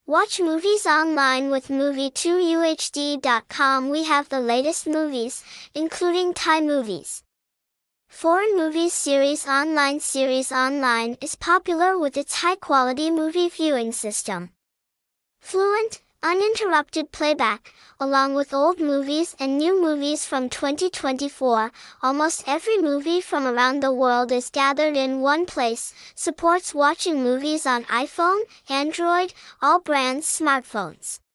Watch movies online with Movie2UHD.com. We have the latest movies, including Thai movies. Foreign Movies Series Online is popular with its high-quality movie viewing system. Fluent, uninterrupted playback, along with old movies and new movies from 2024, almost every movie from around the world is gathered in one place. Supports watching movies on iPhone, Android, all brands smartphones.